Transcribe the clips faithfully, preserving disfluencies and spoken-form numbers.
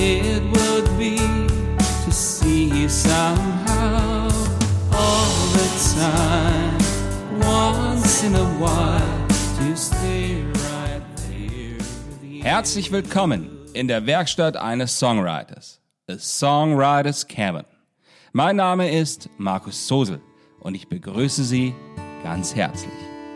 it would be to see you somehow all the time, once in a while, to stay right there with you. Herzlich willkommen in der Werkstatt eines Songwriters, A Songwriter's Cabin. Mein Name ist Markus Zosel und ich begrüße Sie ganz herzlich.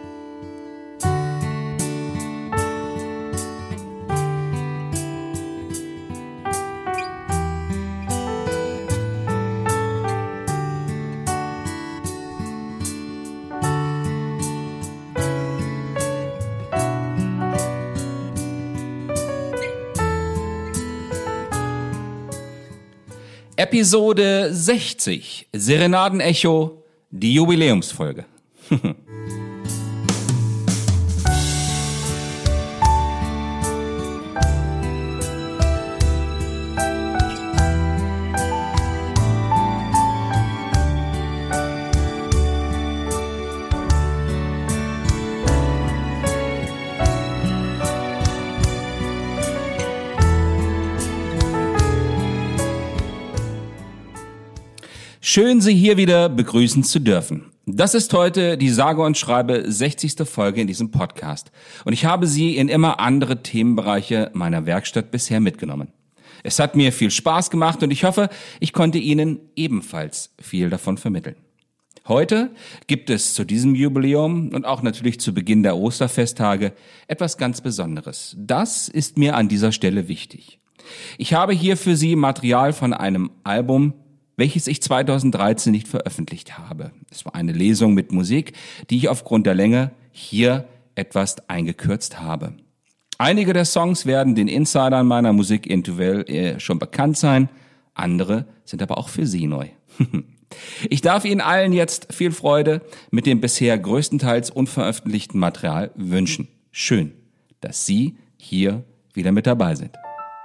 Episode sechzig, Serenaden-Echo, die Jubiläumsfolge. Schön, Sie hier wieder begrüßen zu dürfen. Das ist heute die sage und schreibe sechzigste Folge in diesem Podcast. Und ich habe Sie in immer andere Themenbereiche meiner Werkstatt bisher mitgenommen. Es hat mir viel Spaß gemacht und ich hoffe, ich konnte Ihnen ebenfalls viel davon vermitteln. Heute gibt es zu diesem Jubiläum und auch natürlich zu Beginn der Osterfesttage etwas ganz Besonderes. Das ist mir an dieser Stelle wichtig. Ich habe hier für Sie Material von einem Album, welches ich zweitausenddreizehn nicht veröffentlicht habe. Es war eine Lesung mit Musik, die ich aufgrund der Länge hier etwas eingekürzt habe. Einige der Songs werden den Insidern meiner Musik-Interview schon bekannt sein, andere sind aber auch für Sie neu. Ich darf Ihnen allen jetzt viel Freude mit dem bisher größtenteils unveröffentlichten Material wünschen. Schön, dass Sie hier wieder mit dabei sind.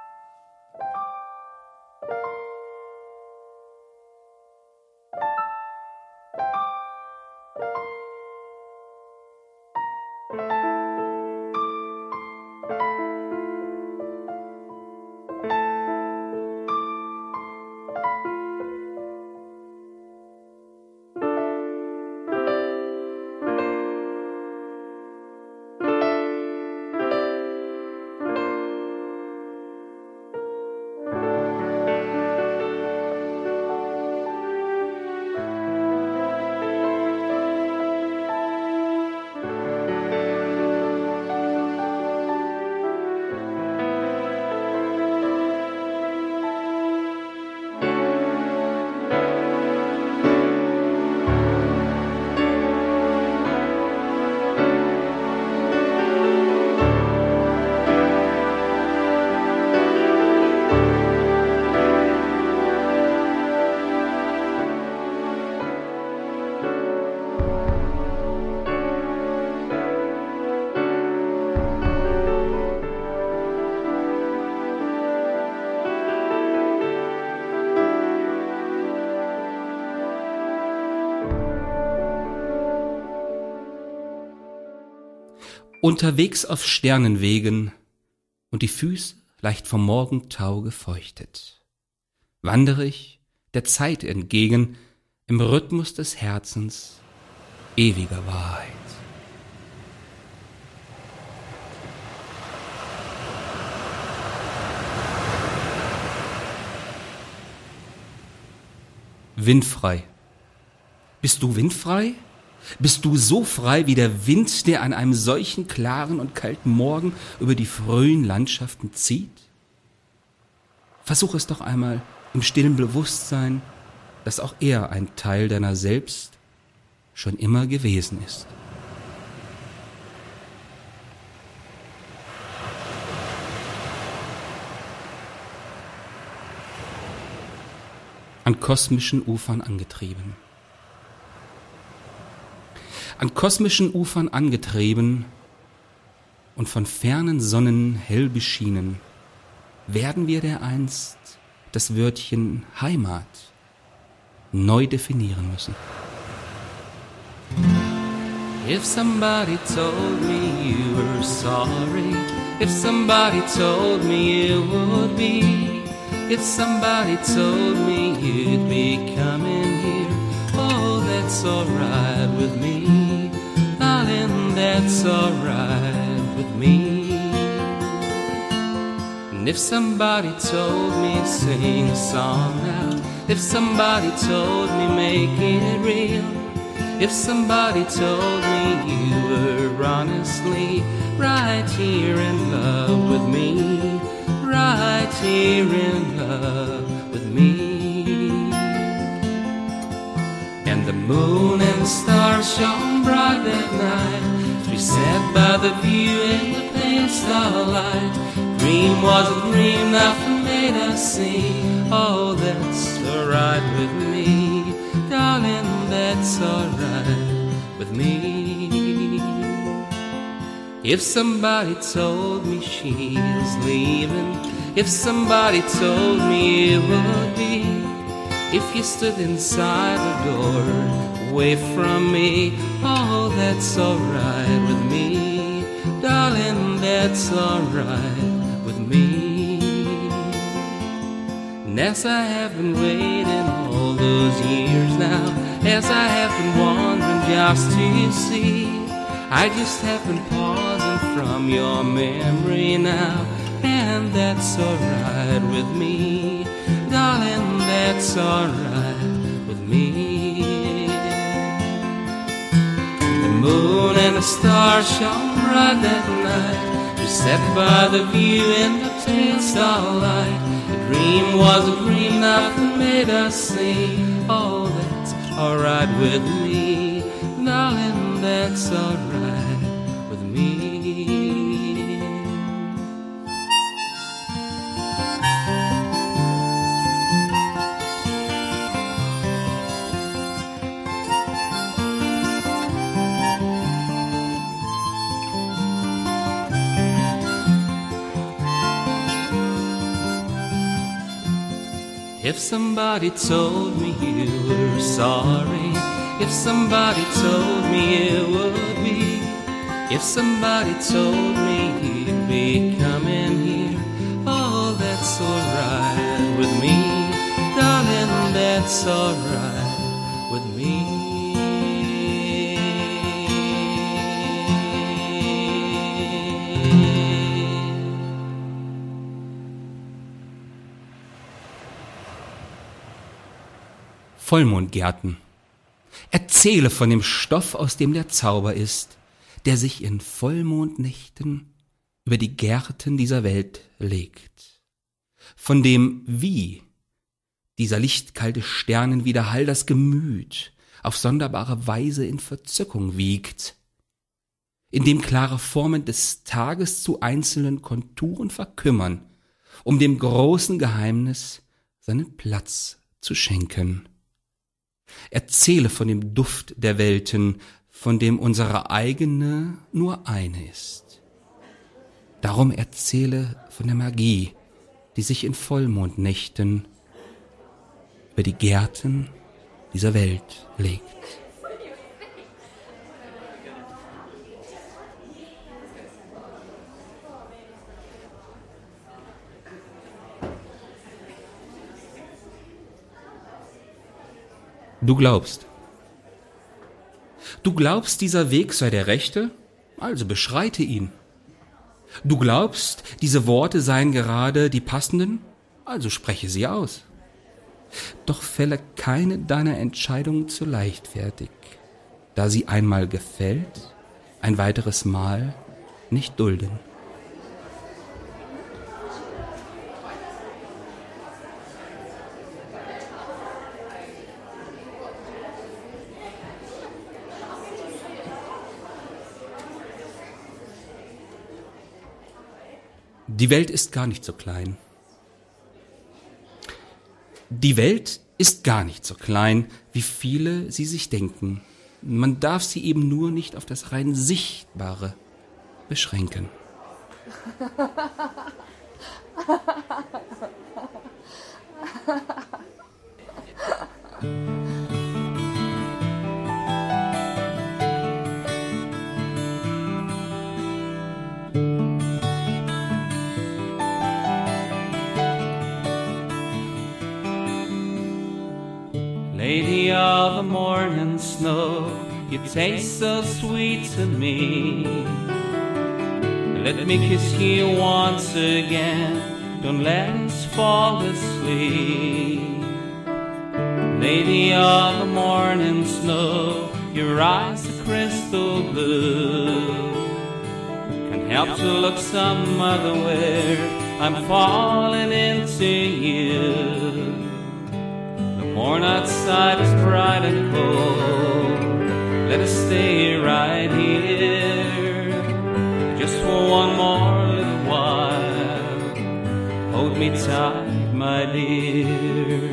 Unterwegs auf Sternenwegen und die Füße leicht vom Morgentau gefeuchtet, wandere ich der Zeit entgegen im Rhythmus des Herzens ewiger Wahrheit. Windfrei. Bist du windfrei? Bist du so frei wie der Wind, der an einem solchen klaren und kalten Morgen über die frühen Landschaften zieht? Versuch es doch einmal im stillen Bewusstsein, dass auch er ein Teil deiner selbst schon immer gewesen ist. An kosmischen Ufern angetrieben. An kosmischen Ufern angetrieben und von fernen Sonnen hell beschienen, werden wir dereinst das Wörtchen Heimat neu definieren müssen. If somebody told me you were sorry, if somebody told me it would be If somebody told me you'd be coming here, oh, that's alright with me. Darling, that's alright with me. And if somebody told me sing a song now, if somebody told me make it real, if somebody told me you were honestly right here in love with me, right here in love with me. And the moon and the stars shone bright that night, as we sat by the view in the pale starlight. Dream was a dream, nothing made us see. Oh, that's alright with me, darling, that's alright with me. If somebody told me she was leaving, if somebody told me it would be, if you stood inside the door away from me, oh, that's alright with me, darling, that's alright with me. And as I have been waiting all those years now, as I have been wandering just to see, I just have been pausing from your memory now, and that's alright with me, darling, that's alright with me. The moon and the stars shone bright that night, we sat by the view in the pale starlight. The dream was a dream, nothing made us see. Oh, that's alright with me, darling, that's alright with me. If somebody told me you were sorry, if somebody told me it would be, if somebody told me you'd be coming here, oh, that's alright with me, darling, that's alright with me. Vollmondgärten. Erzähle von dem Stoff, aus dem der Zauber ist, der sich in Vollmondnächten über die Gärten dieser Welt legt. Von dem Wie dieser lichtkalte Sternenwiderhall das Gemüt auf sonderbare Weise in Verzückung wiegt, in dem klare Formen des Tages zu einzelnen Konturen verkümmern, um dem großen Geheimnis seinen Platz zu schenken. Erzähle von dem Duft der Welten, von dem unsere eigene nur eine ist. Darum erzähle von der Magie, die sich in Vollmondnächten über die Gärten dieser Welt legt. Du glaubst. Du glaubst, dieser Weg sei der rechte, also beschreite ihn. Du glaubst, diese Worte seien gerade die passenden, also spreche sie aus. Doch fälle keine deiner Entscheidungen zu leichtfertig, da sie einmal gefällt, ein weiteres Mal nicht dulden. Die Welt ist gar nicht so klein. Die Welt ist gar nicht so klein, wie viele sie sich denken. Man darf sie eben nur nicht auf das rein Sichtbare beschränken. Lady of the morning snow, you taste so sweet to me. Let me kiss you once again, don't let us fall asleep. Lady of the morning snow, your eyes are crystal blue. Can't help to look some other way, I'm falling into you. The morn outside is bright and cold, let us stay right here, just for one more little while. Hold me tight, my dear.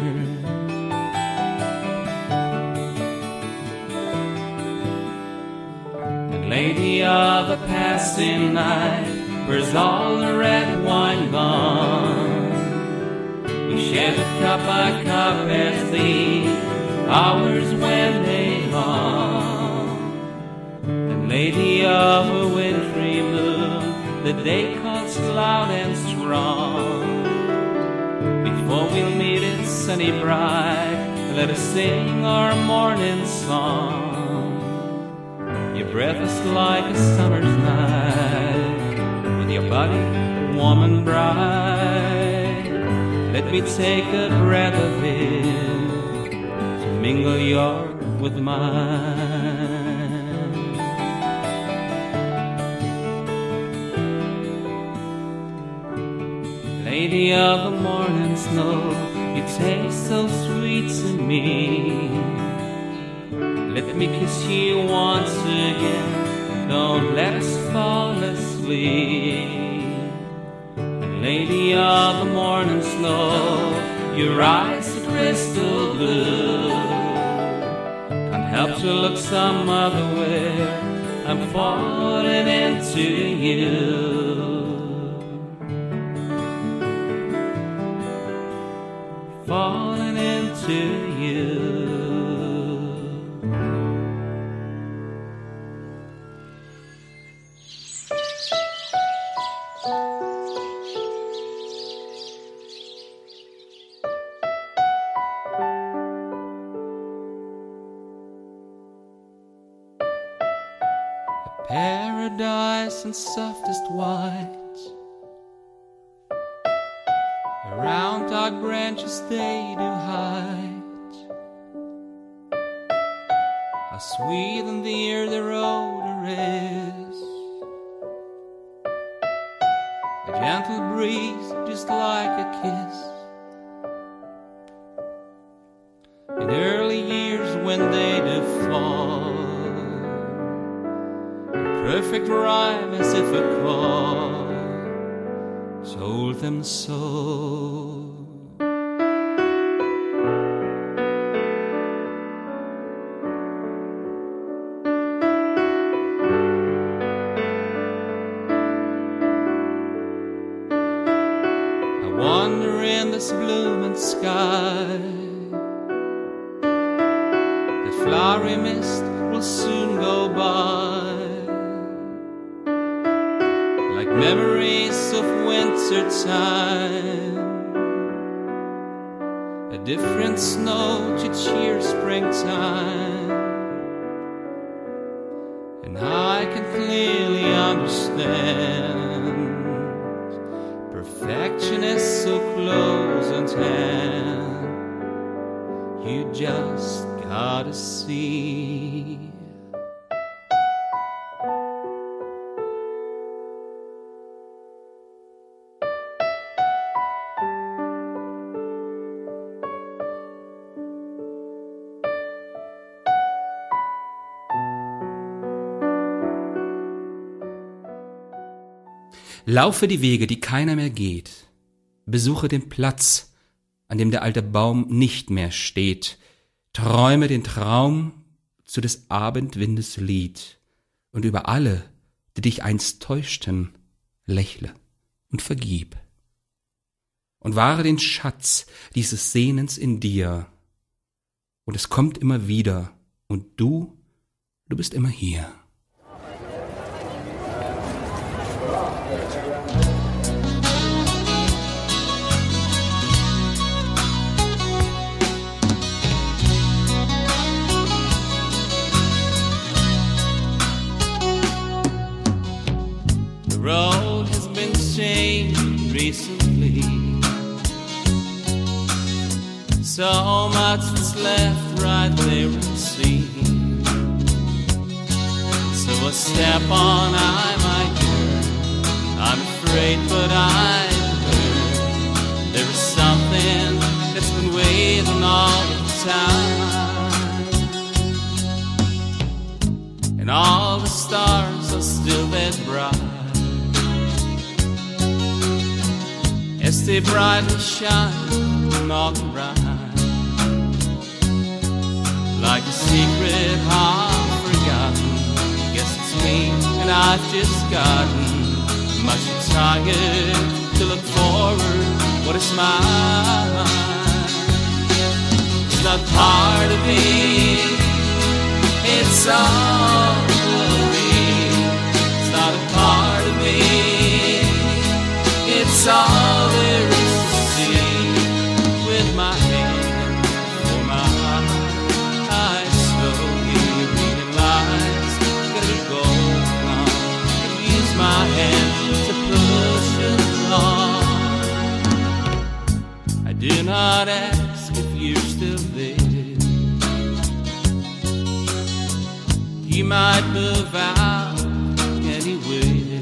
Lady of the passing night, where's all the red wine gone? We shared it cup by cup as the hours when they long. And Lady of a wintry moon, the day cuts loud and strong. Before we'll meet it sunny bright, let us sing our morning song. Your breath is like a summer's night, with your body warm and bright. Let me take a breath of it, to mingle yours with mine. Lady of the morning snow, you taste so sweet to me. Let me kiss you once again, don't let us fall asleep. Lady of the morning snow, your eyes are crystal blue. Can't help to look some other way, I'm falling into you. Falling into you. Paradise and softest white, around dark branches they do hide. How sweet in the air their odor is, a gentle breeze just like a kiss. In early years when they do fall, perfect rhyme as if a call told them so. I wander in this blooming sky, the flowery mist will soon go by. Like memories of winter time, a different snow to cheer springtime. And I can clearly understand, perfection is so close at hand, you just gotta see. Laufe die Wege, die keiner mehr geht. Besuche den Platz, an dem der alte Baum nicht mehr steht. Träume den Traum zu des Abendwindes Lied. Und über alle, die dich einst täuschten, lächle und vergib. Und wahre den Schatz dieses Sehnens in dir. Und es kommt immer wieder. Und du, du bist immer hier. recently. So much was left right there unseen. So a step on I might turn. I'm afraid, but I learn there is something that's been waiting all the time, and all the stars are still that bright as they brightly shine all around. Like a secret half forgotten, guess it's me and I've just gotten much too tired to look forward what is mine. It's not part of me, it's all of me. It's not a part of me, it's all there is to see. With my hand for my eyes, slowly realize gotta be going on. Use my hand to push it along. I do not ask if you're still there. You might move out anywhere,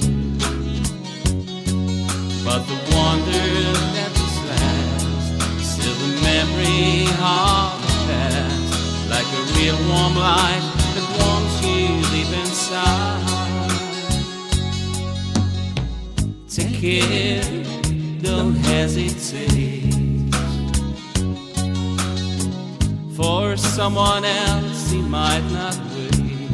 but the wonder that was last, still the memory of the past, like a real warm light that warms you deep inside. Take care, don't hesitate, for someone else he might not wait.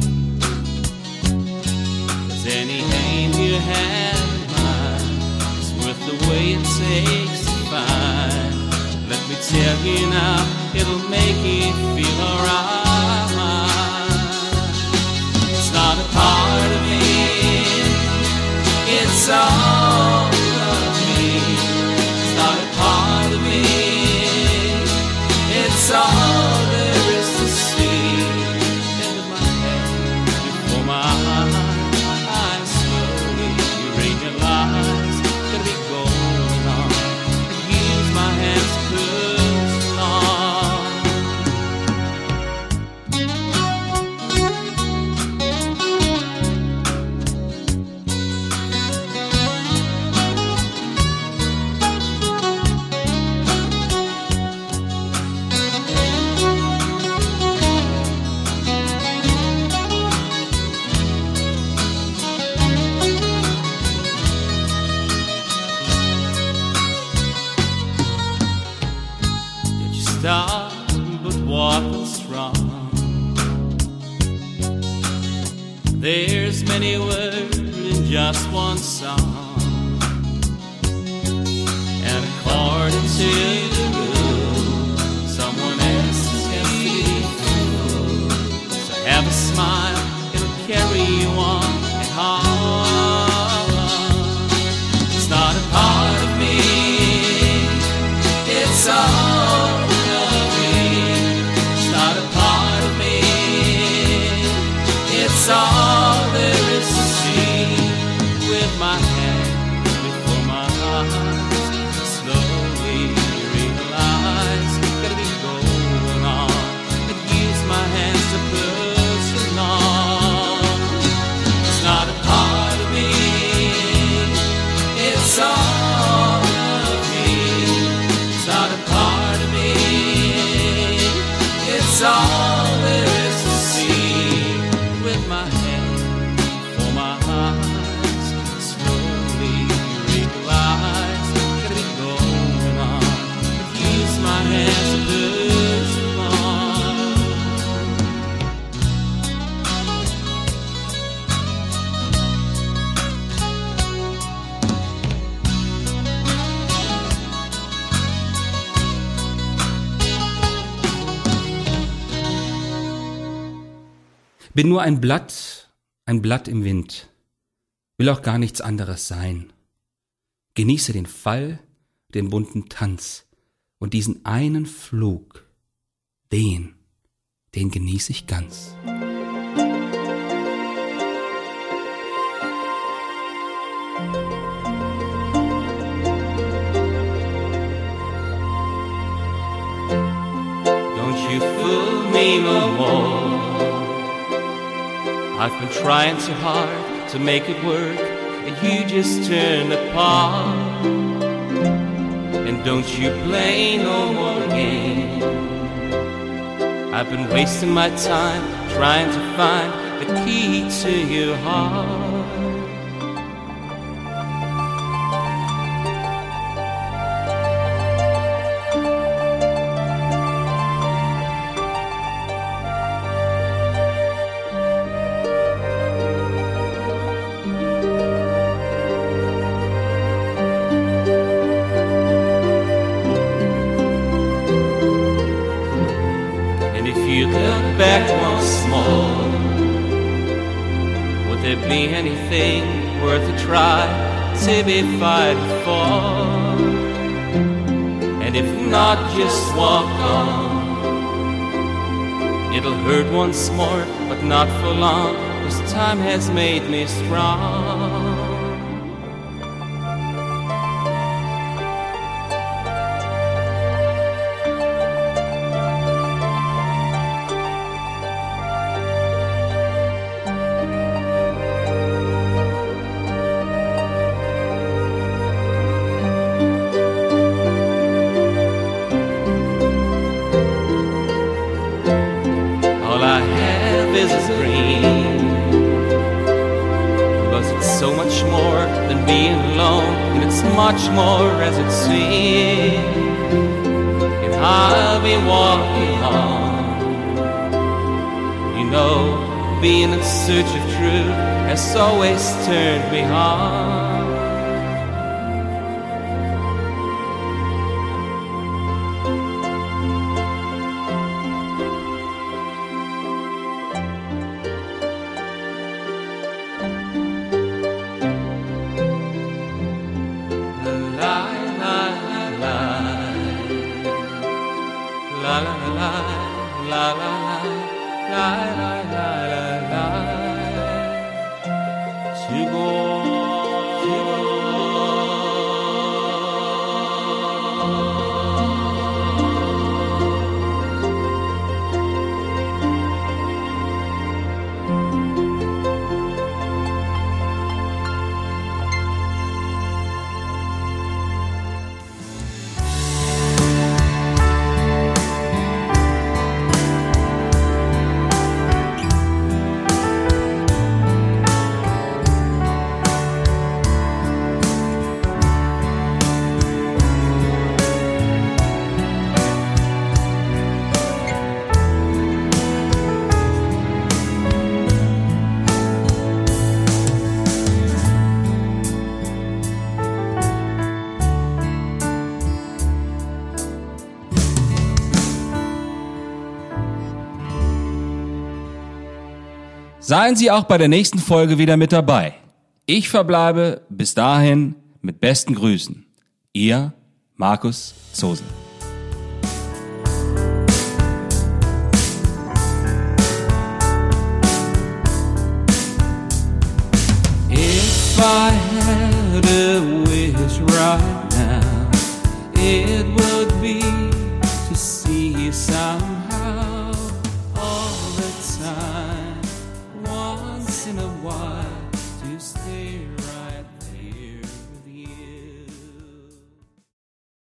Cause any aim you have in mind is worth the way it takes to find. Let me tell you now, it'll make you feel alright. It's not a part of me, it's all of me. It's not a part of me, it's all there is to see. End of my head before my eyes, slowly realize gotta be going on. I use my hands to push along. Did you stop, but what was wrong? There's many words in just one song, and according to the rule, someone else has to be fooled. So have a smile, it'll carry you on and on. It's not a part of me, it's all of me. It's not a part of me, it's all there is to see. With my hand before my eyes, slowly realize gotta be going on. And use my hands to push along. It's not a part of me, it's all of me. It's not a part of me, it's all there is to see. With my hand for my eyes, slowly realize gotta be going on. Use my hands to push along. Bin nur ein Blatt, ein Blatt im Wind, will auch gar nichts anderes sein. Genieße den Fall, den bunten Tanz und diesen einen Flug, den, den genieße ich ganz. you fool me no more. I've been trying so hard to make it work, and you just turn apart. And don't you play no more games. I've been wasting my time trying to find the key to your heart. Back once more, would there be anything worth a try to be fighting for? And if not, just walk on. It'll hurt once more, but not for long, 'cause time has made me strong. Is a dream, but it's so much more than being alone, and it's much more as it seems. If I'll be walking on, you know, being in search of truth has always turned me on. La la la la la la la la la la to go to go. Seien Sie auch bei der nächsten Folge wieder mit dabei. Ich verbleibe bis dahin mit besten Grüßen. Ihr Markus Zosel. If I had a wish right now, it would be to see you somehow.